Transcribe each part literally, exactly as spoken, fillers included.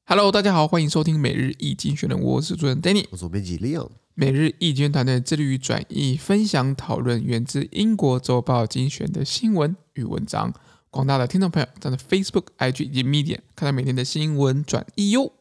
Hello， 大家好，歡迎收聽每日一經濟學人，我是主持人 Danny， 我是編輯 Leon。每日一經濟學團隊致力於轉譯、分享、討論源自英國週報精選的新聞與文章。廣大的聽眾朋友，在 Facebook、I G 以及 Medium 看到每天的新聞轉譯喲。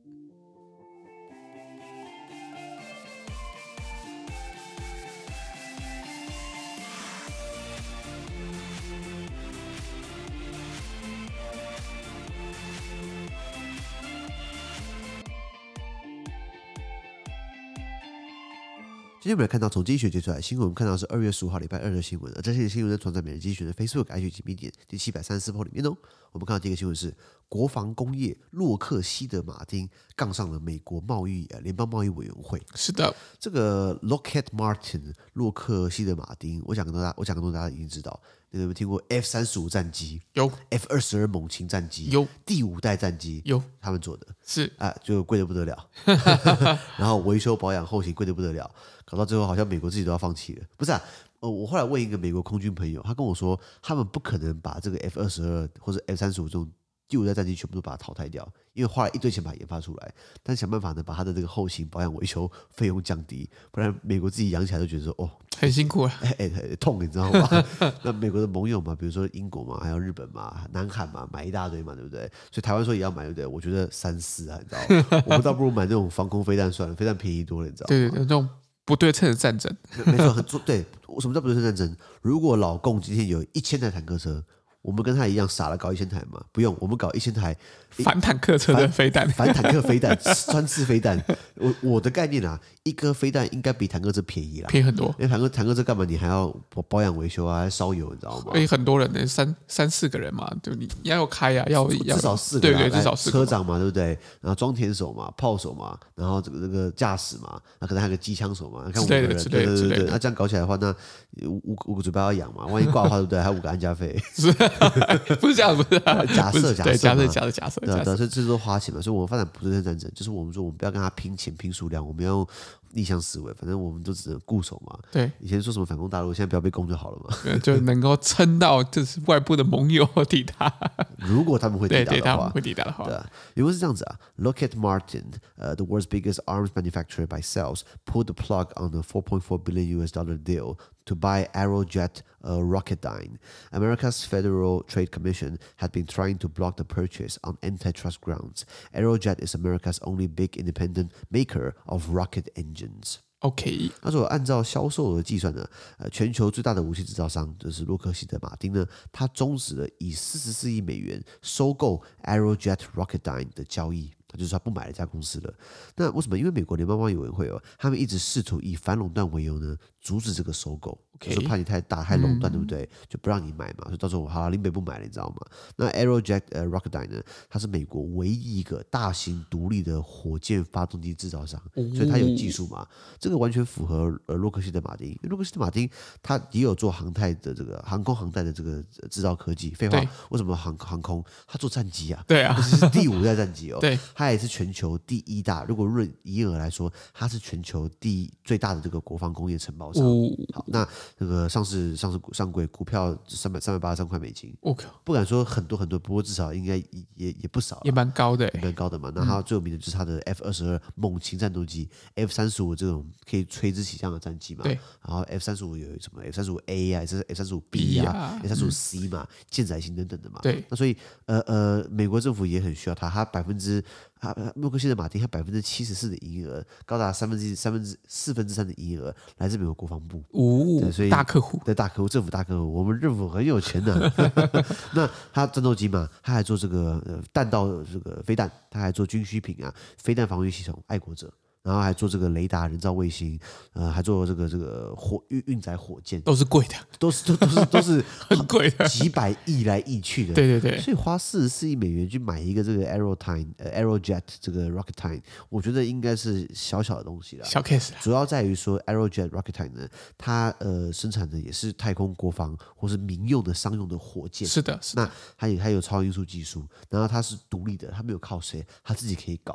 今天我們來看到從經濟學接出來的新聞，我們看到是二月十五號禮拜二的新聞，而這些新聞呢，傳在每日經濟學的 Facebook、I G 及 Medium 第七百三十四鋪裡面哦。我們看到第一個新聞是國防工業洛克希德馬丁槓上了美國貿易呃聯邦貿易委員會。 是的， 這個 Lockheed Martin 洛克希德馬丁，我講跟大家，我講跟大家已經知道，你有沒有聽過 F 三十五 戰機？ 有 F 二十二猛禽戰機？ 有第五代戰機？ 有他們做的是啊，就貴得不得了。然後維修保養後勤貴得不得了。搞到最後，好像美國自己都要放棄了。不是啊，呃，我後來問一個美國空軍朋友，他跟我說，他們不可能把這個 F 二十二或者 F 三十五這種第五代戰機全部都把它淘汰掉，因為花了一堆錢把它研發出來，但是想辦法呢，把它的這個後勤保養維修費用降低，不然美國自己養起來都覺得說，哦， 很辛苦啊， 哎哎，痛，你知道嗎？那美國的盟友嘛，比如說英國嘛，還有日本嘛、南韓嘛，買一大堆嘛，對不對？所以台灣說也要買，對不對？我覺得三思啊，你知道嗎？我們倒不如買那種防空飛彈算了，飛彈便宜多了，你知道嗎？ 對對對，那種不對稱的戰爭， 沒錯，很對。什麼叫不對稱戰爭？如果老共今天有一千台坦克車，我們跟他一樣傻了搞一千台嘛？不用，我們搞一千台反坦克車的飛彈， 反坦克飛彈、穿刺飛彈。我我的概念啊，一顆飛彈應該比坦克車便宜啦， 便宜很多。 因為坦克坦克車幹嘛？你還要保養維修啊，還燒油，你知道嗎？ 所以很多人呢，三三四個人嘛，就你要有開啊，要要至少四個， 對對，至少四個車長嘛，對不對？然後裝填手嘛，炮手嘛，然後這個這個駕駛嘛，那可能還有個機槍手嘛，看五個人，對對對對。那這樣搞起來的話，那五五個嘴巴要養嘛，萬一掛的話，對不對？還有五個安家費。 不是這樣，不是假設假設假設假設假設， 對對，所以這都花錢嘛，所以我們發展不對稱戰爭，就是我們說我們不要跟他拼錢拼數量，我們要用逆向思維，反正我們都只能固守嘛。 對， 以前說什麼反攻大陸，現在不要被攻就好了嘛， 就能夠撐到就是外部的盟友抵達。 如果他們會抵達的話， 對，他們會抵達的話， 對啊，因為是這樣子啊 ，Lockheed Martin，呃、uh, ，the world's biggest arms manufacturer by sales, pulled the plug on a four point four billion U S dollar deal to buy Aerojet uh, Rocketdyne. America's Federal Trade Commission had been trying to block the purchase on antitrust grounds. Aerojet is America's only big independent maker of rocket engines. OK， 他說按照銷售額計算呢，呃，全球最大的武器製造商就是洛克希德馬丁呢，他終止了以四十四億美元收購 Aerojet Rocketdyne 的交易。他就是他不買了這家公司了。那為什麼？因為美國聯邦貿易委員會哦，他們一直試圖以反壟斷為由呢，阻止這個收購。Okay. 就是怕你太大、太壟斷，對不對？嗯、就不讓你買嘛。所以到時候好、啊，林北不買了，你知道嗎？那 Aerojet、呃、Rocketdyne 呢，它是美國唯一一個大型獨立的火箭發動機製造商，哦、所以它有技術嘛。這個完全符合呃洛克希德馬丁。因為洛克希德馬丁它也有做航太的這個航空航太的這個製造科技。廢話，為什麼航航空？它做戰機啊？對啊，這是第五代戰機哦。對。它也是全球第一大，如果論營業額來說，它是全球第一最大的這個國防工業承包商。哦、好，那這個上市上市上櫃股票三百三百八十三塊美金。OK，不敢說很多很多，不過至少應該也也不少，也蠻高的，也蠻高的嘛。那它最有名的就是它的 F 二十二猛禽戰鬥機、嗯、，F 三十五這種可以垂直起降的戰機嘛。對。然後 F 三十五有什麼 F 三十五 A 啊，這是 F 三十五 B 啊 ，F 三十五 C 嘛，艦載型等等的嘛。對。那所以呃呃，美國政府也很需要它，它百分之。啊，洛克希德馬丁，它百分之七十四的營業額，高達三分之三分之四分之三的營業額來自美國國防部。哦，所以大客戶，對大客戶，政府大客戶，我們政府很有錢的、啊。那他戰鬥機嘛，他還做這個呃彈道這個飛彈，他還做軍需品啊，飛彈防禦系統，愛國者。然後還做這個雷達、人造衛星，呃，還做這個這個火運運載火箭，都是貴的，都是都都是都是很貴的，幾百億來億去的。對對對，所以花四十四億美元去買一個這個 Aerodyne 呃 Aerojet 這個 Rocketdyne， 我覺得應該是小小的東西了，小 case。主要在於說 Aerojet Rocketdyne 呢，它呃生產的也是太空國防或是民用的商用的火箭。是的，是的。那它也它有超音速技術，然後它是獨立的，它沒有靠誰，它自己可以搞。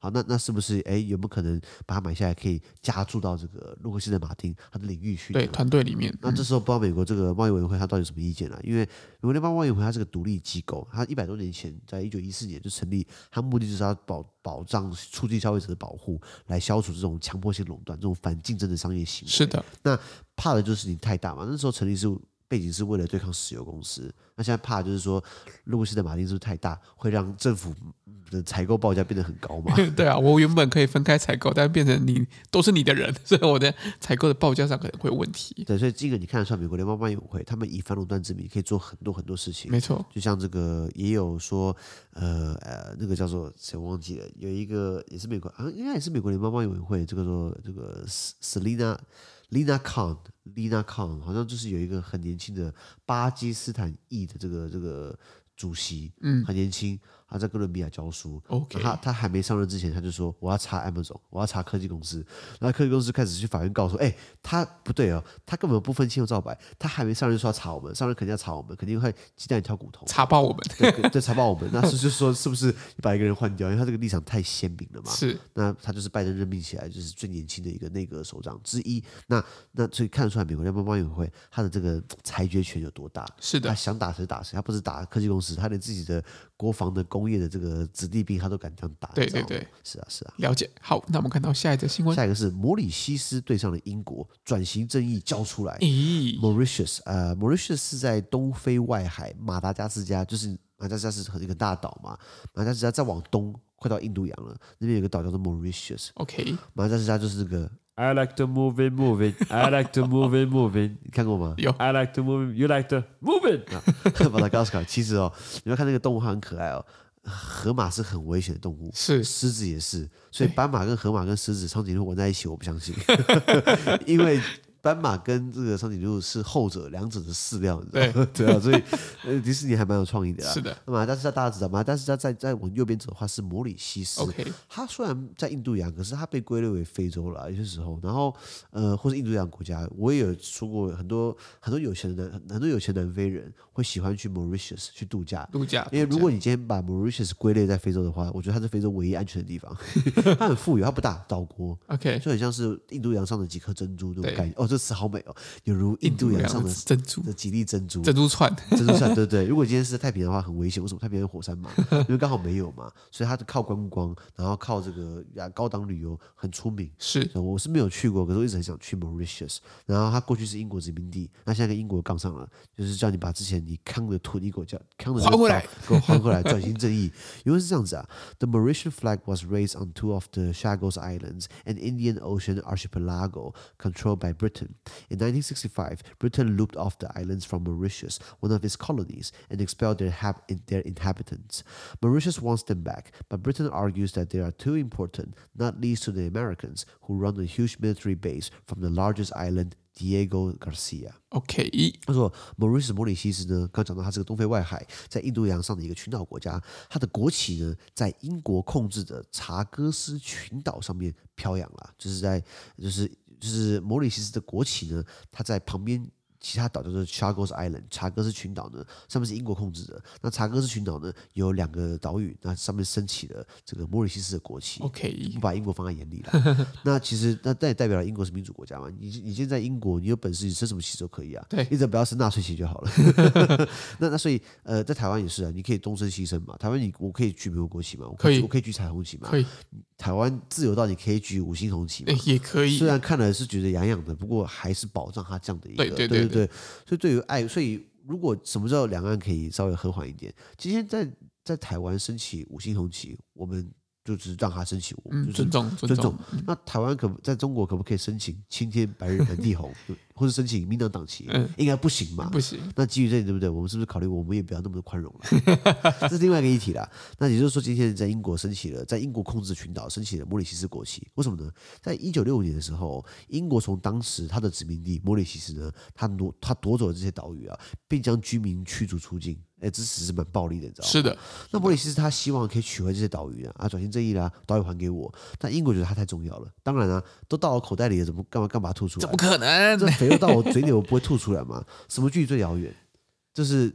好，那那是不是哎有沒有可能把它買下來，可以加注到這個洛克希德馬丁它的領域去？ 對，團隊裡面。 那這時候不知道美國這個貿易委員會它到底有什麼意見啦？因為美國聯邦貿易委員會它是個獨立機構，它一百多年前在一九一四年就成立，它目的就是要保保障促進消費者的保護，來消除這種強迫性壟斷、這種反競爭的商業行為。 是的， 那怕的就是你太大嘛。那時候成立是背景是為了對抗石油公司，那現在怕的就是說洛克希德馬丁是不是太大，會讓政府的採購報價變得很高嘛？ 對啊，我原本可以分開採購，但變成你都是你的人，所以我的採購的報價上可能會有問題。 對，所以這個你看得出來，美國聯邦貿易委員會他們以反壟斷之名可以做很多很多事情。 沒錯，就像這個也有說，呃呃，那個叫做誰我忘記了，有一個也是美國，啊，應該也是美國聯邦貿易委員會，這個說這個 Selina Lina Khan，Lina Khan 好像就是有一個很年輕的巴基斯坦裔的這個這個主席，嗯，很年輕。他在哥倫比亞教書 ，OK， 他他還沒上任之前，他就說我要查 Amazon， 我要查科技公司，然後科技公司開始去法院告說，哎，他不對哦，他根本不分青紅皂白，他還沒上任就說要查我們，上任肯定要查我們，肯定會雞蛋裡挑骨頭， 查爆我們， 對對，查爆我們，那是就是說是不是把一個人換掉，因為他這個立場太鮮明了嘛， 是， 那他就是拜登任命起來就是最年輕的一個內閣首長之一，那那所以看得出來美國聯邦貿易委員會他的這個裁決權有多大， 是的， 他想打誰打誰，他不是打科技公司，他連自己的國防的工業的這個子弟兵他都敢這樣打， 對對對， 是啊是啊， 了解。好，那我們看到下一則新聞， 下一個是摩里西斯對上了英國，轉型正義交出來。 咦 Mauritius， 呃，Mauritius 是在東非外海馬達加斯加，就是馬達加斯加是一個大島嘛，馬達加斯加再往東快到印度洋了，那邊有個島叫做 Mauritius。OK， 馬達加斯加就是這個。I like to move it, move it. I like to move it, move it. 你看過嗎？ 有。 I like to move it. You like to move it. 馬達加斯加其實哦，你要看那個動物，它很可愛哦。河馬是很危險的動物， 是獅子也是，所以斑馬跟河馬跟獅子長頸鹿玩在一起，我不相信，因為斑馬跟這個長頸鹿是後者，兩者的飼料，你知道嗎？對，對啊，所以呃，迪士尼還蠻有創意的啦。 是的， 那馬達加斯加大家知道，馬達加斯加在在往右邊走的話是摩里西斯。 OK， 它雖然在印度洋，可是它被歸類為非洲了，有些時候。然後呃，或是印度洋國家，我也有說過，很多很多有錢的南很多有錢南非人會喜歡去 Mauritius 去度假。 度假， 因為如果你今天把 Mauritius 歸類在非洲的話，我覺得它是非洲唯一安全的地方。它很富有，它不大，島國。 OK， 就很像是印度洋上的幾顆珍珠那種感覺。哦，這詞好美哦。有如印度洋上的珍珠的幾粒珍珠， 珍珠串， 珍珠串，對對。如果今天是在太平洋的話，很危險。為什麼太平洋有火山嘛？因為剛好沒有嘛，所以它靠觀光，然後靠這個高檔旅遊很出名。 是， 我是沒有去過，可是我一直很想去 Mauritius。然後它過去是英國殖民地，那現在跟英國槓上了，就是叫你把之前你扛的土地給我叫扛的還回來， 給我還回來，轉型正義。因為是這樣子啊 ，The Mauritian flag was raised on two of the Chagos Islands, an Indian Ocean archipelago controlled by Britain. In nineteen sixty-five, Britain looped off the islands from Mauritius, one of its colonies, and expelled their, hab- their inhabitants. Mauritius wants them back, but Britain argues that they are too important, not least to the Americans, who run a huge military base from the largest island, Diego Garcia。OK， 他說 Mauritius 摩里西斯呢，剛講到它是個東非外海，在印度洋上的一個群島國家，它的國旗呢，在英國控制的查戈斯群島上面飄揚了，就是在就是。就是摩里西斯的國旗呢，它在旁邊其他島叫做 Chagos Island， 查戈斯群島呢，上面是英國控制的。那查戈斯群島呢，有兩個島嶼，那上面升起了這個摩里西斯的國旗。OK， 不把英國放在眼裡了。那其實那那也代表了英國是民主國家嘛？你你現在在英國，你有本事你升什麼旗都可以啊。對，你只要不要升納粹旗就好了。那那所以呃，在台灣也是啊，你可以東升西升嘛。台灣你我可以舉美國國旗嘛？我可以，我可以舉彩虹旗嘛？可以。台灣自由到你可以舉五星紅旗嘛？ 也可以。 雖然看了是覺得癢癢的，不過還是保障它這樣的一個。對對對 對, 對, 對。所以對於愛，所以如果什麼叫兩岸可以稍微和緩一點？今天在在台灣升起五星紅旗，我們就是讓它升起，我們、就是、 尊重尊重。那台灣可在中國可不可以申請青天白日滿地紅？或者申請民進黨黨旗，嗯、應該不行嘛？不行。那基於這裡，對不對？我們是不是考慮我們也不要那麼寬容了？這是另外一個議題啦。那也就是說，今天在英國升起了，在英國控制的群島升起了摩里西斯國旗，為什麼呢？在一九六五年的時候，英國從當時他的殖民地摩里西斯呢，他奪他奪走了這些島嶼啊，並將居民驅逐出境。哎，這其實蠻暴力的，你知道嗎？是的。那摩里西斯他希望可以取回這些島嶼啊，啊，轉型正義啦，島嶼還給我。但英國覺得它太重要了。當然啊，都到我口袋裡了，怎麼幹嘛幹嘛吐出來？怎麼可能？這肥肉到我嘴裡，我不會吐出來嗎？什麼距離最遙遠？就是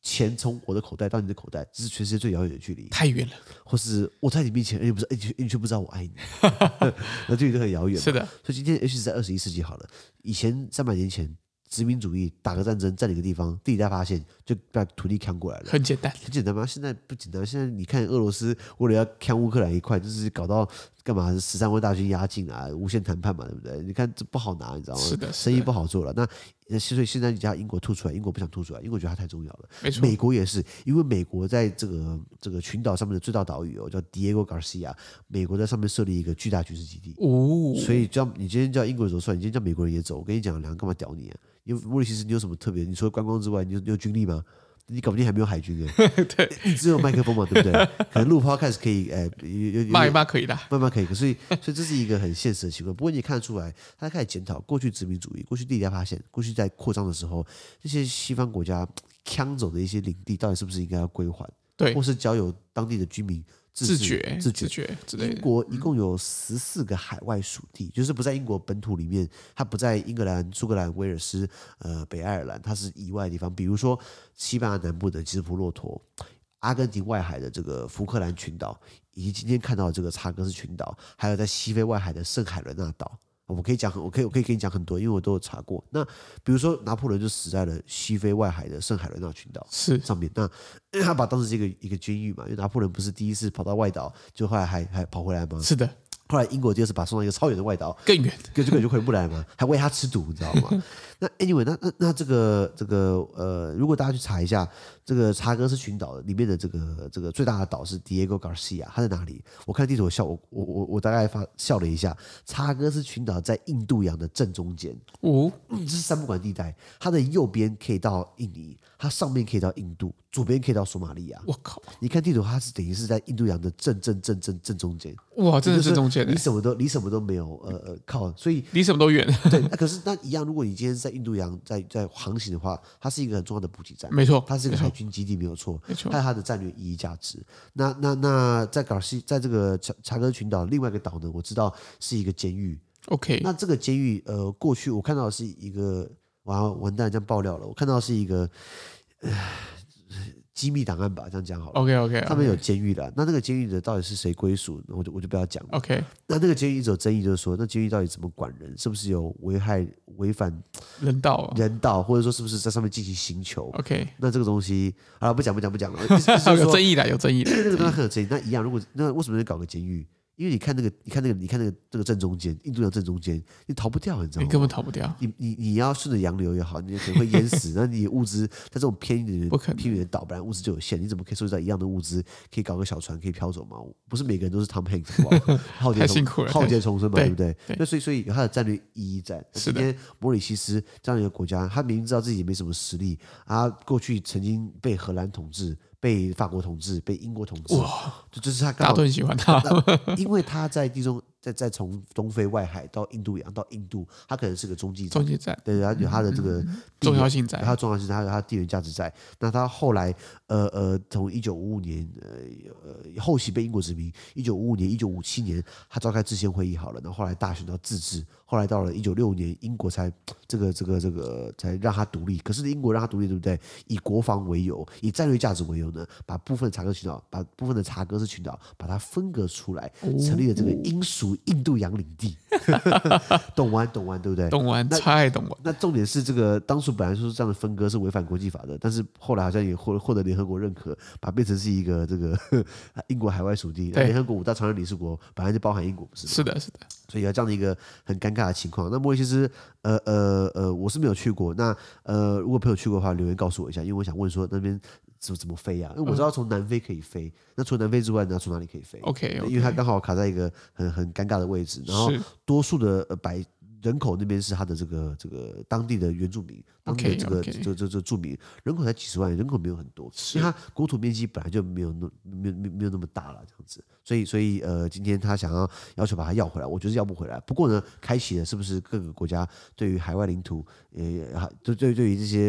錢從我的口袋到你的口袋，這是全世界最遙遠的距離， 太遠了。或是我在你面前，而且不是，而且你卻不知道我愛你，那距離都很遙遠。 是的， 所以今天，尤其是在二十一世紀好了，以前三百年前。殖民主義打個戰爭佔領個地方，地理大發現就把土地搶過來了， 很簡單， 很簡單嗎？現在不簡單。現在你看俄羅斯為了要搶烏克蘭一塊，就是搞到幹嘛？十三萬大軍壓境啊，無限談判嘛，對不對？你看這不好拿，你知道嗎？ 是的， 生意不好做了。那所以現在你叫英國吐出來，英國不想吐出來，英國覺得它太重要了。 沒錯， 美國也是，因為美國在這個這個群島上面的最大島嶼哦，叫 Diego Garcia， 美國在上面設立一個巨大軍事基地。哦，所以叫你今天叫英國人走算，你今天叫美國人也走，我跟你講，兩個幹嘛屌你啊？因為莫里西斯，你有什麼特別？你除了觀光之外，你有你有軍力嗎？你搞不定還沒有海軍哎、欸，對，你只有麥克風嘛，對不對？可能陸拋開始可以，哎、呃，有有罵一罵可以的， 慢慢可以。所以，所以這是一個很現實的情況。不過你也看得出來，他開始檢討過去殖民主義、過去地理大發現、過去在擴張的時候，這些西方國家搶走的一些領地，到底是不是應該要歸還？對，或是交由當地的居民。自覺、自覺、自覺之類的。英國一共有十四個海外屬地，嗯、就是不在英國本土裡面，它不在英格蘭、蘇格蘭、威爾斯、呃北愛爾蘭，它是以外的地方。比如說西班牙南部的吉斯普洛陀，阿根廷外海的這個福克蘭群島，以及今天看到的這個查戈斯群島，還有在西非外海的聖海倫娜島。我可以講，我可以，我可以跟你講很多，因為我都有查過。那比如說，拿破崙就死在了西非外海的聖海倫娜群島是上面。那他把當時這個一個監獄嘛，因為拿破崙不是第一次跑到外島，就後來還還跑回來嗎？是的。後來英國第二次把他送到一個超遠的外島，更遠，就根本就回不來嘛，還餵他吃毒，你知道嗎？那 anyway， 那那那這個這個呃，如果大家去查一下這個查戈斯群島裡面的這個這個最大的島是 Diego Garcia， 它在哪裡？我看地圖我笑，我我我我大概發笑了一下。查戈斯群島在印度洋的正中間，哦，這是三不管地帶，它的右邊可以到印尼，它上面可以到印度，左邊可以到索馬利亞。我靠！你看地圖，它是等於是在印度洋的正正正正正中間。哇，真的是正中間，離什麼都離什麼都沒有，呃呃，靠，所以離什麼都遠。對，那可是那一樣，如果你今天是在印度洋在在航行的話，它是一個很重要的補給站，沒錯，它是一個海軍基地，沒有錯，沒錯，它有它的戰略意義價值。那那那在gar西，在這個查查戈斯群島另外一個島呢，我知道是一個監獄。OK，那這個監獄，呃，過去我看到的是一個，完完蛋，這樣爆料了，我看到的是一個。呃機密檔案吧，這樣講好了。OK OK， 他們有監獄的，那那個監獄的到底是誰歸屬？我就我就不要講了。OK，那那個監獄一直有爭議，就是說那監獄到底怎麼管人？是不是有危害、違反人道、啊、人道，或者說是不是在上面進行刑求 ？OK，那這個東西啊，不講不講不講了。有爭議的，有爭議的，那個東西很有爭議。那一樣，如果那為什麼要搞個監獄？因為你看那個，你看那個，你看那個這個正中間，印度洋正中間，你逃不掉，你知道嗎？你根本逃不掉。你你你要順着洋流也好，你可能會淹死。那你物資在這種偏遠的偏遠的島，本來物資就有限，你怎麼可以收集到一樣的物資，可以搞個小船可以飄走嗎？不是每個人都是 Tom Hanks， 浩劫重浩劫重生嘛，對不對？那所以所以有它的戰略意義在。今天摩里西斯這樣一個國家，他明明知道自己也沒什麼實力，啊，過去曾經被荷蘭統治。被法國統治，被英國統治，哇！就就是他剛好，大家都很喜歡他，因為他在地中，在在從東非外海到印度洋到印度，他可能是個中繼站，中繼站，對，他有他的這個重要性在，有他重要性，他有他的地緣價值在。那他後來，呃呃，從一九五五年，呃呃，後期被英國殖民，一九五五年、一九五七年，他召開制憲會議好了，然後後來大選到自治，後來到了一九六五年，英國才這個這個這個才讓他獨立。可是英國讓他獨立，對不對？以國防為由，以戰略價值為由。把部分的查戈斯群島，把部分的查戈斯群島，把它分割出來，成立了這個英屬印度洋領地。懂玩懂玩，對不對？懂玩，太懂玩。那重點是這個當初本來說這樣的分割是違反國際法的，但是後來好像也獲獲得聯合國認可，把它變成是一個這個英國海外屬地。聯合國五大常任理事國本來就包含英國，不是嗎？是的，是的。所以有這樣的一個很尷尬的情況。那莫里西斯，呃呃呃，我是沒有去過。那呃，如果朋友去過的話，留言告訴我一下，因為我想問說那邊。怎麼怎麼飛啊？因為我知道從南非可以飛，嗯、那除了南非之外，你要從哪裡可以飛 ？OK，, okay. 因為它剛好卡在一個很很尷尬的位置，然後多數的百人口那邊是它的這個這個當地的原住民，當地的這個 okay, okay. 這這這住民人口才幾十萬，人口沒有很多，因為它國土面積本來就沒有那沒有沒沒有那麼大了，這樣子，所以所以呃，今天他想要要求把它要回來，我覺得要不回來。不過呢，開啟了是不是各個國家對於海外領土，呃，對對對於這些。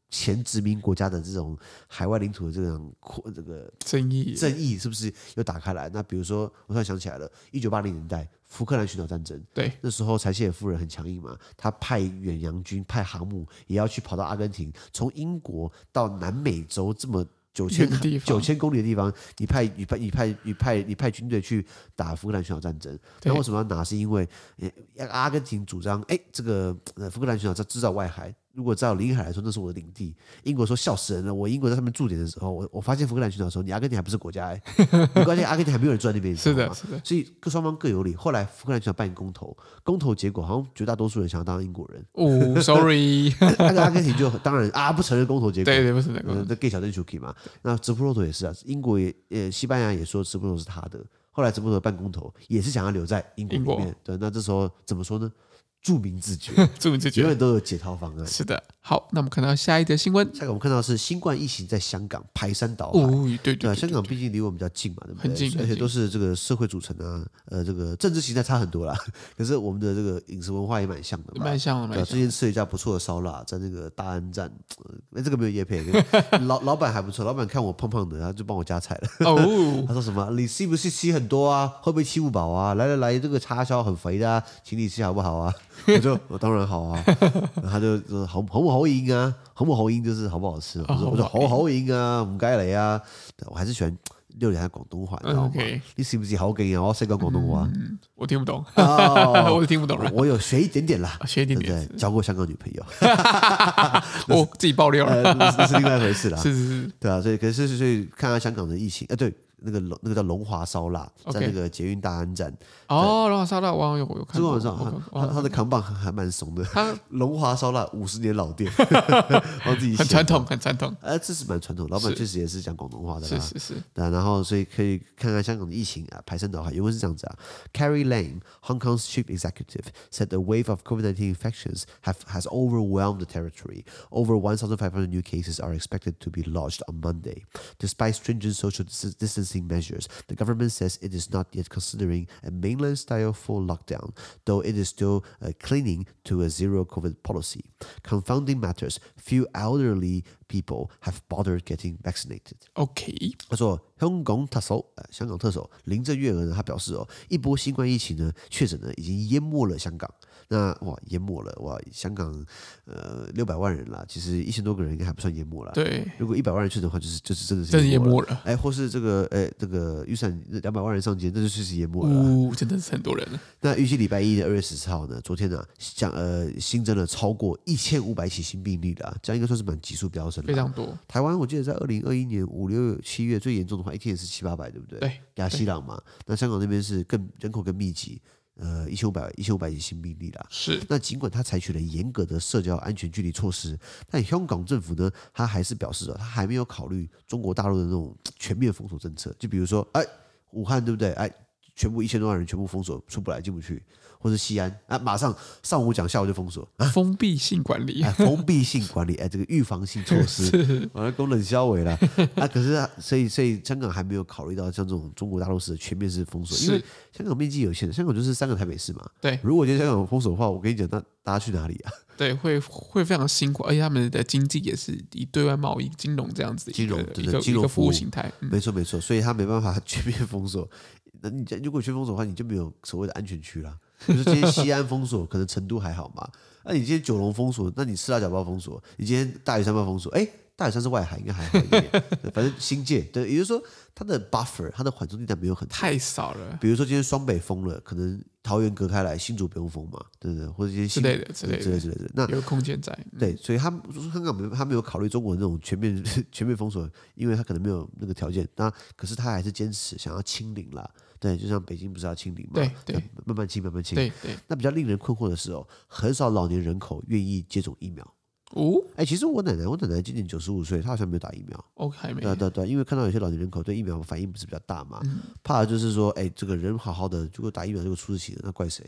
前殖民國家的這種海外領土的這種這個爭議， 爭議是不是又打開來？那比如說，我突然想起來了，一九八零年代福克蘭群島戰爭， 對， 那時候柴契爾夫人很強硬嘛，他派遠洋軍、派航母也要去跑到阿根廷，從英國到南美洲這麼九千九千公里的地方，你派你派你派你派你派軍隊去打福克蘭群島戰爭，那為什麼要拿？是因為阿根廷主張，哎，這個福克蘭群島在制造外海。如果照領海來說，那是我的領地。英國說笑死人了。我英國在上面駐點的時候，我我發現福克蘭群島的時候，你阿根廷還不是國家哎、欸，你關鍵阿根廷還沒有人住在那邊。 是的，是的。 所以各雙方各有理。後來福克蘭群島辦公投，公投結果好像絕大多數人想要當英國人。 哦，sorry， 那個阿根廷就當然啊不承認公投結果，對對，不承認公投。 那 gay 小鎮 Chucky 嘛，那直布羅陀也是啊，英國也呃西班牙也說直布羅陀是他的。後來直布羅陀辦公投也是想要留在英國裡面。對，那這時候怎麼說呢？著名自覺， 著名自覺， 永遠都有解套方案。 是的，好，那我們看到下一則新聞。 下一個我們看到的是新冠疫情在香港排山倒海。 哦，對對對， 香港畢竟離我們比較近嘛，對不對？ 很近， 而且都是這個社會組成啊，呃，這個政治形態差很多啦。可是我們的這個飲食文化也蠻像的嘛， 蠻像的。對， 之前吃了一家不錯的燒臘，在那個大安站，哎，這個沒有業配，老老闆還不錯，老闆看我胖胖的，他就幫我加菜了。哦，他說什麼？你是不是吃很多啊？會不會吃不飽啊？來來來，這個叉燒很肥的啊，請你吃好不好啊？我就我當然好啊，他就說好好不好飲啊，好不好飲就是好不好吃。我說我說好好飲啊，唔該嚟啊，我還是喜歡溜一下廣東話，你知道嗎？你是不是好勁啊？我識講廣東話， 我聽不懂， 哦、 我聽不懂了。 我有學一點點啦， 學一點點， 對對，交過香港女朋友， 我自己爆料了， 那是另外一回事啦。 是是是， 對啊，所以可是所以看看香港的疫情，哎，對。那個龍那個叫龍華燒臘，在那個捷運大安站。哦， 龍華燒臘，我有我有看過。 這個晚上，他他的扛棒還蠻慫的。他龍華燒臘五十年老店，幫自己很傳統，很傳統。 哎，這是蠻傳統，老闆確實也是講廣東話的啦。 是是是。 對，然後所以可以看看香港的疫情啊，排山倒海。原文是這樣子啊 ，Carrie Lam, Hong Kong's chief executive, said the wave of COVID nineteen infections have has overwhelmed the territory. Over one thousand five hundred new cases are expected to be lodged on Monday. Despite stringent social distancing measures, the government says it is not yet considering a mainland-style full lockdown, though it is still uh, clinging to a zero-COVID policy. Confounding matters, few elderly people have bothered getting vaccinated. OK， 他說香港特首，呃，香港特首林鄭月娥呢，他表示哦，一波新冠疫情呢，確診呢已經淹沒了香港。那哇，淹沒了哇！香港呃六百萬人啦，其實一千多個人應該還不算淹沒了。 對， 如果一百萬人去的話，就是就是真的是真的淹沒了。 哎，或是這個哎這個預算兩百萬人上街，那就確實淹沒了。 哦，真的是很多人了。 那預計禮拜一的二月十四號呢，昨天呢，將呃新增了超過一千五百起新病例了，這樣應該算是蠻急速飆升的。 非常多。 台灣我記得在二零二一年五六七月最嚴重的話，一天也是七八百，對不對？ 對。 亞西朗嘛，那香港那邊是更人口更密集。呃，一千五百一千五百起新病例啦。是。那盡管他採取了嚴格的社交安全距離措施，但香港政府呢，他還是表示哦，他還沒有考慮中國大陸的那種全面封鎖政策。就比如說，哎，武漢對不對？哎，全部一千多萬人全部封鎖，出不來進不去。或是西安啊，馬上上午講，下午就封鎖，啊、 封閉性管理， 哎、封閉性管理，哎，這個預防性措施，完了功能銷毀了啊。可是啊，所以所以香港還沒有考慮到像這種中國大陸式的全面式封鎖，因為香港面積有限，香港就是三個台北市嘛。對，如果今天香港封鎖的話，我跟你講，那大家去哪裡啊？對，會會非常辛苦，而且他們的經濟也是以對外貿易、金融這樣子金融對對金融服務形態，嗯、沒錯沒錯，所以他沒辦法全面封鎖。那你如果全封鎖的話，你就沒有所謂的安全區了。就是今天西安封鎖，可能成都還好嘛。那你今天九龍封鎖，那你赤鱲角包封鎖，你今天大嶼山包封鎖，哎，大嶼山是外海，應該還好一點。反正新界，對，也就是說它的 buffer， 它的緩衝地帶沒有很太少了。比如說今天雙北封了，可能桃園隔開來，新竹不用封嘛，對不對？或者一些之類的、之類的、之類之類的。那有空間在。對，所以他香港沒他沒有考慮中國的那種全面全面封鎖，因為他可能沒有那個條件。那可是他還是堅持想要清零啦。對，就像北京不是要清零嘛？對對，慢慢清，慢慢清。對對。那比較令人困惑的是哦，很少老年人口願意接種疫苗。哦，哎，其實我奶奶，我奶奶今年九十五歲，她好像沒有打疫苗。哦，還沒。對對對，因為看到有些老年人口對疫苗反應不是比較大嘛，嗯、怕的就是說，哎，這個人好好的，如果打疫苗這個出事情，那怪誰？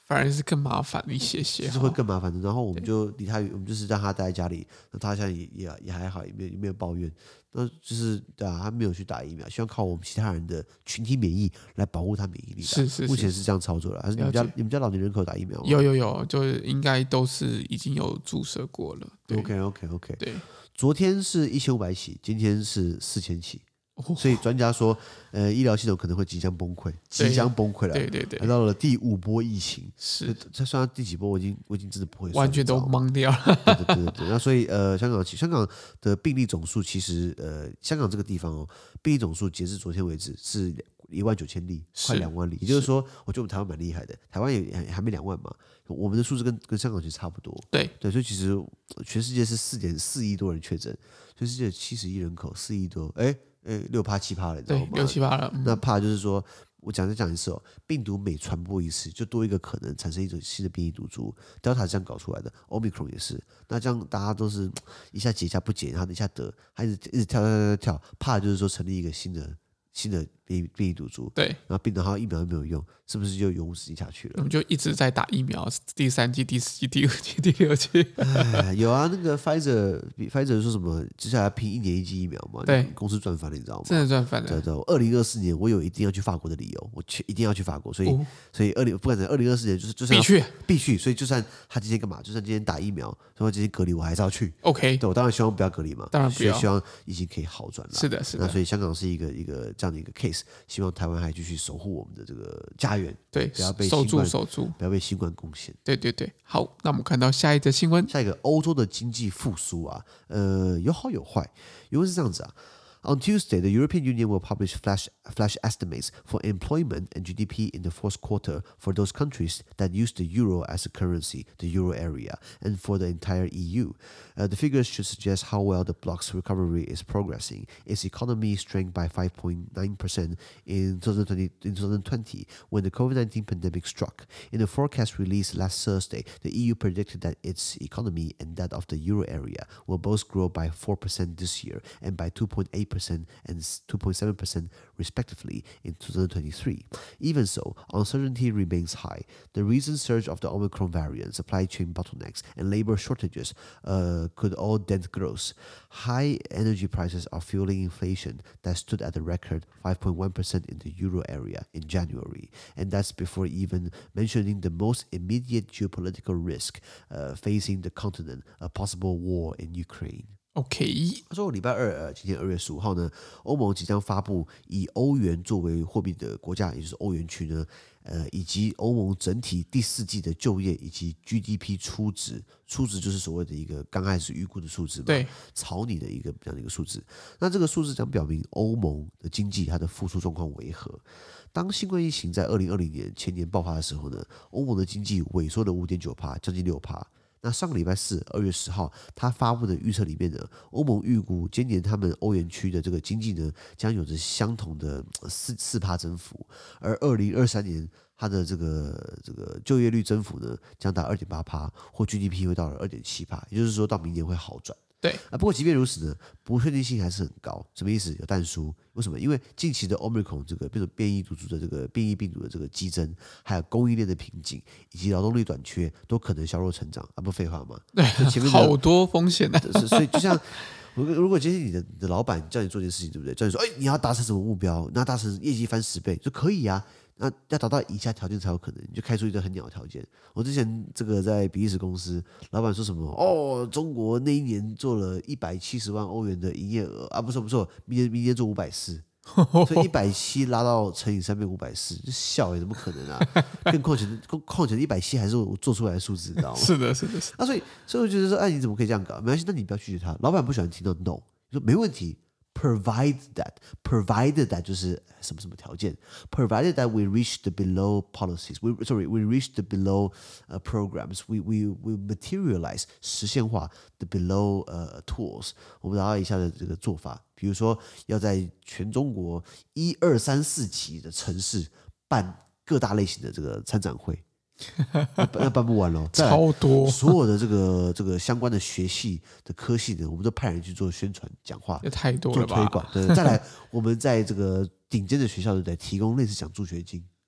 反而是更麻煩一些些， 就是會更麻煩的。然後我們就離他，我們就是讓他待在家裡，那他現在也也也還好，也沒有也沒有抱怨。那就是對啊，他沒有去打疫苗，希望靠我們其他人的群體免疫來保護他免疫力。 是是是， 目前是這樣操作的。還是你們家你們家老年人口打疫苗嗎？ 有有有，就是應該都是已經有注射過了。 OK OK OK。 對， 昨天是一千五百起，今天是四千起。所以專家說，呃，醫療系統可能會即將崩潰，即將崩潰了。 對對對， 來到了第五波疫情， 是這算到第幾波？我已經我已經真的不會算， 完全都懵掉了。 對對對對對。那所以呃，香港香港的病例總數其實呃，香港這個地方哦，病例總數截至昨天為止是一萬九千例，快兩萬例。也就是說，我覺得我們台灣蠻厲害的，台灣也還沒兩萬嘛，我們的數字跟跟香港其實差不多。 對對，所以其實全世界是四點四億多人確診，全世界七十億人口，四億多，哎。呃，六趴七趴了，你知道嗎？ 對，六七趴了。嗯、 那怕就是說，我講再講一次哦，病毒每傳播一次，就多一個可能產生一種新的變異毒株。Delta 是這樣搞出來的 ，Omicron 也是。那這樣大家都是一下解一下不解，然後一下得，還一直一直跳跳跳跳，怕就是說成立一個新的新的變異變異毒株。對，然後病毒，然後疫苗又沒有用，是不是就永無止境下去了？ 我們就一直在打疫苗，第三劑、第四劑、第五劑、第六劑。 有啊，那個 Pfizer，Pfizer 說什麼接下來拼一年一劑疫苗嘛？對，公司賺翻了，你知道嗎？真的賺翻了。對對，二零二四年我有一定要去法國的理由，我去一定要去法國，所以、哦、所以二零不管在二零二四年就是就是必須必須，所以就算他今天幹嘛，就算今天打疫苗，說今天隔離，我還是要去。OK，對我當然希望不要隔離嘛，當然不要，希望疫情可以好轉了。是的，是的。那所以香港是一個一個這樣的一個 case， 希望台灣還繼續守護我們的這個家園，對，不要被守住守住，不要被新冠攻陷。對對對，好，那我們看到下一則新聞，下一個歐洲的經濟復甦啊，呃，有好有壞，因為是這樣子啊。On Tuesday, the European Union will publish flash, flash estimates for employment and G D P in the fourth quarter for those countries that use the euro as a currency, the euro area, and for the entire E U. Uh, the figures should suggest how well the bloc's recovery is progressing. Its economy shrank by five point nine percent in twenty twenty, in twenty twenty when the COVID nineteen pandemic struck. In the forecast released last Thursday, the E U predicted that its economy and that of the euro area will both grow by four percent this year and by two point eight percent and two point seven percent respectively in twenty twenty-three. Even so, uncertainty remains high. The recent surge of the Omicron variant, supply chain bottlenecks, and labor shortages uh, could all dent growth. High energy prices are fueling inflation that stood at a record five point one percent in the euro area in January. And that's before even mentioning the most immediate geopolitical risk uh, facing the continent, a possible war in Ukraine. OK， 他說禮拜二，呃，今天二月十五號呢，歐盟即將發布以歐元作為貨幣的國家，也就是歐元區呢，呃，以及歐盟整體第四季的就業以及 G D P 初值，初值就是所謂的一個剛開始預估的數字嘛，對，草擬的一個這樣的一個數字。那這個數字將表明歐盟的經濟它的復甦狀況為何。當新冠疫情在二零二零年前年爆發的時候呢，歐盟的經濟萎縮了五點九趴，將近六趴。那上個禮拜四，二月十號，他發布的預測裡面呢，歐盟預估今年他們歐元區的這個經濟呢，將有着相同的四四趴增幅，而二零二三年它的這個這個就業率增幅呢，將達二點八趴，或 G D P 會到了二點七趴，也就是說到明年會好轉。對啊，不過即便如此呢，不確定性還是很高。什麼意思？有但書？為什麼？因為近期的 Omicron 這個變種變異毒株的這個變異病毒的這個激增，還有供應鏈的瓶頸，以及勞動力短缺，都可能削弱成長啊！不廢話嗎？對，前面好多風險啊。所以就像如果如果今天你的你的老闆叫你做件事情，對不對？叫你說，哎，你要達成什麼目標？那達成業績翻十倍，就可以啊。那要達到以下條件才有可能，你就開出一個很鳥的條件。我之前這個在比利時公司，老闆說什麼？哦，中國那一年做了一百七十萬歐元的營業額啊，不錯不錯，明年明年做五百四，所以一百七拉到乘以三變五百四，就笑也怎麼可能啊？更況且況且一百七還是我做出來的數字，你知道嗎？是的，是的，是的。那所以所以我覺得說，哎，你怎麼可以這樣搞？沒關係，那你不要拒絕他。老闆不喜歡聽到 no， 你說沒問題。Provide that, provided that 就是什麼什麼條件 ，provided that we reach the below policies, we sorry, we reach the below uh, programs, we we we materialize 實現化 the below uh, tools。我們達到以下的這個做法，比如說要在全中國一二三四級的城市辦各大類型的這個參展會。那那辦不完了，超多，所有的這個這個相關的學系的科系呢，我們都派人去做宣傳、講話，也太多了吧？做推廣。對，再來，我們在這個頂尖的學校，對不對？提供類似獎助學金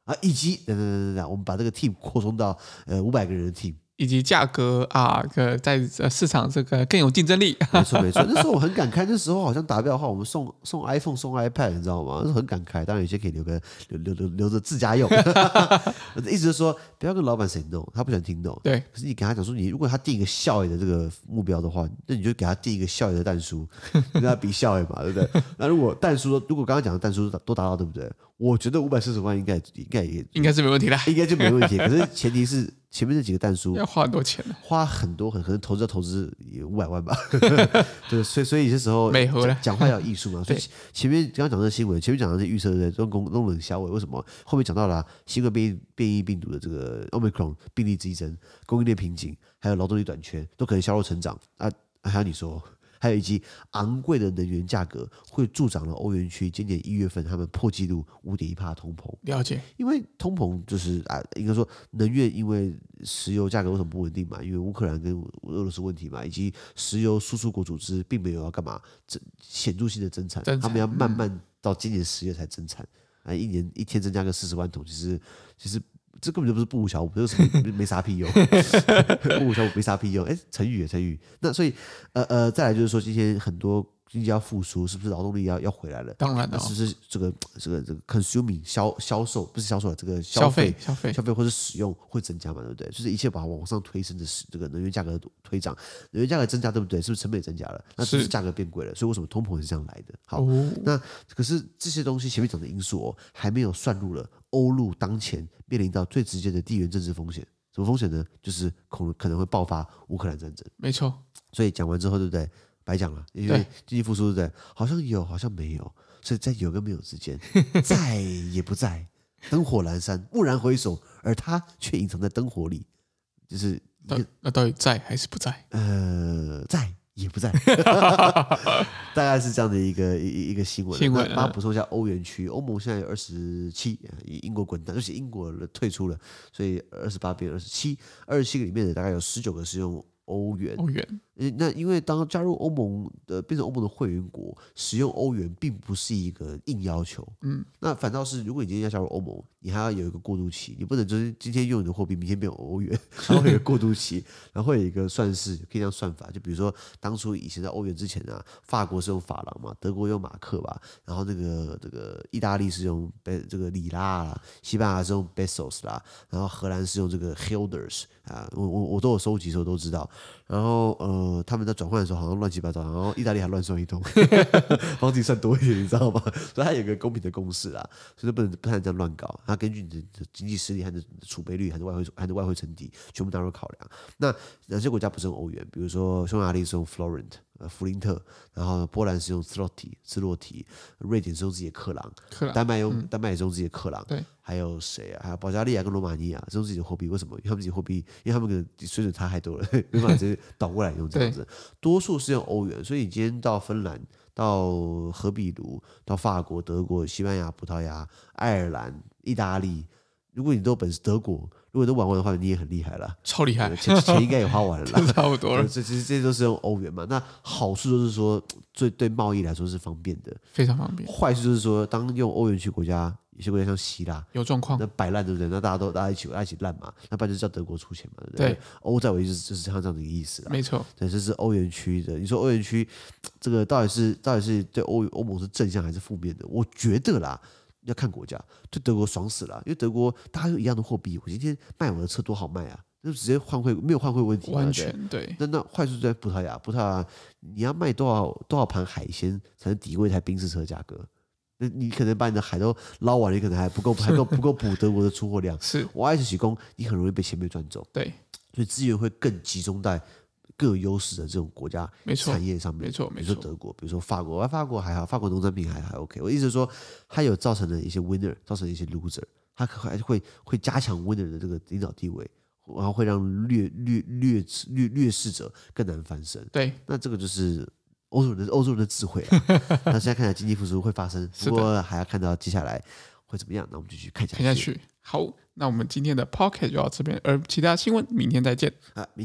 啊，以及等等等等，我們把這個 team 擴充到呃五百個人的 team。 以及價格啊，個在市場這個更有競爭力。 沒錯沒錯，那時候我很感慨，那時候好像達標的話，我們送送 iPhone 送 iPad， 你知道嗎？那時候很感慨。當然有些可以留個留留留留着自家用。意思是說，不要跟老闆 say no，他不喜歡聽 no。對。可是你跟他講說，你如果他定一個效益的這個目標的話，那你就給他定一個效益的但書，跟他比效益嘛，對不對？那如果但書，如果剛剛講的但書都達到，對不對？我覺得五百四十萬應該應該也應該是沒問題的， 應該就沒問題。可是前提是前面那幾個但書要花很多錢， 花很多很可能投資要投資也五百萬吧。對，所以所以有些時候美和了講話要有藝術嘛。所以前面剛剛講的新聞，前面講的是預測對不對？都都冷消委，為什麼後面講到了、啊、新冠變異變異病毒的這個 Omicron 病例激增、供應鏈瓶頸，還有勞動力短缺，都可能削弱成長啊。還有你說。還有以及昂貴的能源價格會助長了歐元區今年一月份他們破紀錄五點一趴通膨。 了解，因為通膨就是啊，應該說能源因為石油價格為什麼不穩定嘛？因為烏克蘭跟俄羅斯問題嘛，以及石油輸出國組織並沒有要幹嘛顯著性的增產，增產他們要慢慢到今年十月才增產啊，一年一天增加個四十萬桶，其實其實。這根本就不是不無小補，這個什麼沒啥屁用，不無小補沒啥屁用。哎，成語成語。那所以呃呃，再來就是說，今天很多經濟要復甦，是不是勞動力要要回來了？ 當然了， 是不是這個這個這個 consuming 銷銷售不是銷售這個消費消費消費或者使用會增加嘛？對不對？就是一切把它往上推升的這個能源價格推漲，能源價格增加，對不對？是不是成本也增加了？那是不是價格變貴了？所以為什麼通膨是這樣來的？好，哦、那可是這些東西前面講的因素哦，還沒有算入了歐陸當前面臨到最直接的地緣政治風險。什麼風險呢？就是可可能會爆發烏克蘭戰爭。沒錯。所以講完之後，對不對？白講了，因為經濟復甦，對不對？好像有，好像沒有，所以在有跟沒有之間，在也不在，燈火闌珊，驀然回首，而他卻隱藏在燈火裡，就是那那到底在還是不在？ 呃，在也不在，大概是這樣的一個一一個新聞。新聞，幫他補充一下歐元區，歐盟現在有二十七，英國滾蛋，而且英國退出了，所以二十八變二十七，二十七個裡面的大概有十九個是用歐元。歐元。那因為當加入歐盟的變成歐盟的會員國，使用歐元並不是一個硬要求，嗯，那反倒是如果你今天要加入歐盟，你還要有一個過渡期，你不能就是今天用你的貨幣，明天變歐元，然後會有一個過渡期，然後會有一個算式，可以這樣算法，就比如說當初以前在歐元之前啊，法國是用法郎嘛，德國用馬克吧，然後那個這個意大利是用這個里拉啦，西班牙是用 pesos 啦，然後荷蘭是用這個 guilders 啊，我我我都有收集，所以我都知道，然後呃。呃，他們在轉換的時候好像亂七八糟，然後意大利還亂算一通，幫自己算多一點，你知道嗎？所以它有一個公平的公式啊，所以不能不能這樣亂搞。它根據你的經濟實力和你的儲備率，還是外匯，還是外匯存底，全部納入考量。那哪些國家不是用歐元？比如說匈牙利是用 Florent。呃，弗林特，然後波蘭是用斯洛提，斯洛提，瑞典是用自己的克朗，克朗丹麥用、嗯、丹麥也是用自己的克朗，對，還有誰啊？還有保加利亞跟羅馬尼亞是用自己的貨幣，為什麼？因為他們自己貨幣，因為他們的水準差太多了，沒辦法直接倒過來用這樣子。多數是用歐元，所以你今天到芬蘭、到荷比盧、到法國、德國、西班牙、葡萄牙、愛爾蘭、意大利，如果你都有本事，德國。如果都玩完的話，你也很厲害了，超厲害，錢錢應該也花完了啦，差不多了。這其實這些都是用歐元嘛。那好處就是說，最對貿易來說是方便的，非常方便。壞處就是說，當用歐元區國家，有些國家像希臘有狀況，那擺爛對不對？那大家都大家一起大家一起爛嘛，那不然就叫德國出錢嘛，對不對？對，歐債為就是就是像這樣的一個意思啦。沒錯，對，這是歐元區的。你說歐元區這個到底是到底是對歐歐盟是正向還是負面的？我覺得啦。要看國家，對德國爽死了，因為德國大家有一樣的貨幣，我今天賣我的車多好賣啊，就直接換匯，沒有換匯問題，完全對。對，那那壞處在葡萄牙，葡萄牙你要賣多少多少盤海鮮才能抵過一台賓士車價格？那你可能把你的海都撈完了，你可能還不夠，還夠不夠補德國的出貨量。是，我愛是起工，你很容易被前面賺走。對，所以資源會更集中在各有優勢的這種國家產業上面，沒錯，沒錯。比如說德國，比如說法國，啊，法國還好，法國農產品還還 OK。我意思是說，它有造成了一些 winner，造成了一些 loser，它可還會會加強 winner 的這個領導地位，然後會讓劣劣劣劣劣勢者更難翻身。對，那這個就是歐洲人的歐洲人的智慧啊。那現在看起來經濟復甦會發生，不過還要看到接下來會怎麼樣。那我們就去看下去。看下去。好，那我們今天的 Podcast 就到這邊，而其他新聞明天再見啊，明天。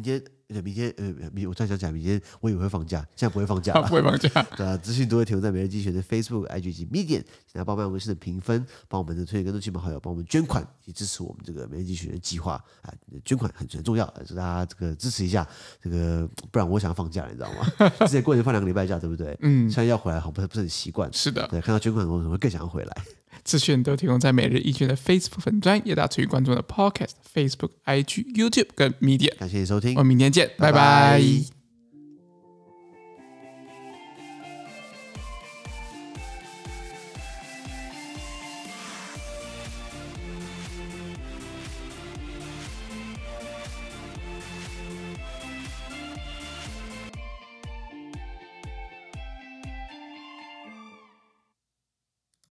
明天呃，明我突然想起來，明天我以為會放假，現在不會放假了， 不會放假。 對啊，資訊都會提供在每日精選的 Facebook、I G 及 Medium， 請大家幫忙我們的評分，幫我們的推薦更多親朋好友，幫我們捐款，以支持我們這個每日精選的計劃啊。捐款很很重要，所以大家這個支持一下，這個不然我想要放假了，你知道嗎？之前過年放兩個禮拜假，對不對？嗯，現在要回來好不是不是很習慣。 是的， 對，看到捐款我可能會更想要回來。 資訊都提供在每日一經的 Facebook 粉專，也大家持續關注的 Podcast、Facebook、I G、YouTube 跟 Medium。 感謝你收聽， 我們明天見，拜拜。 拜拜。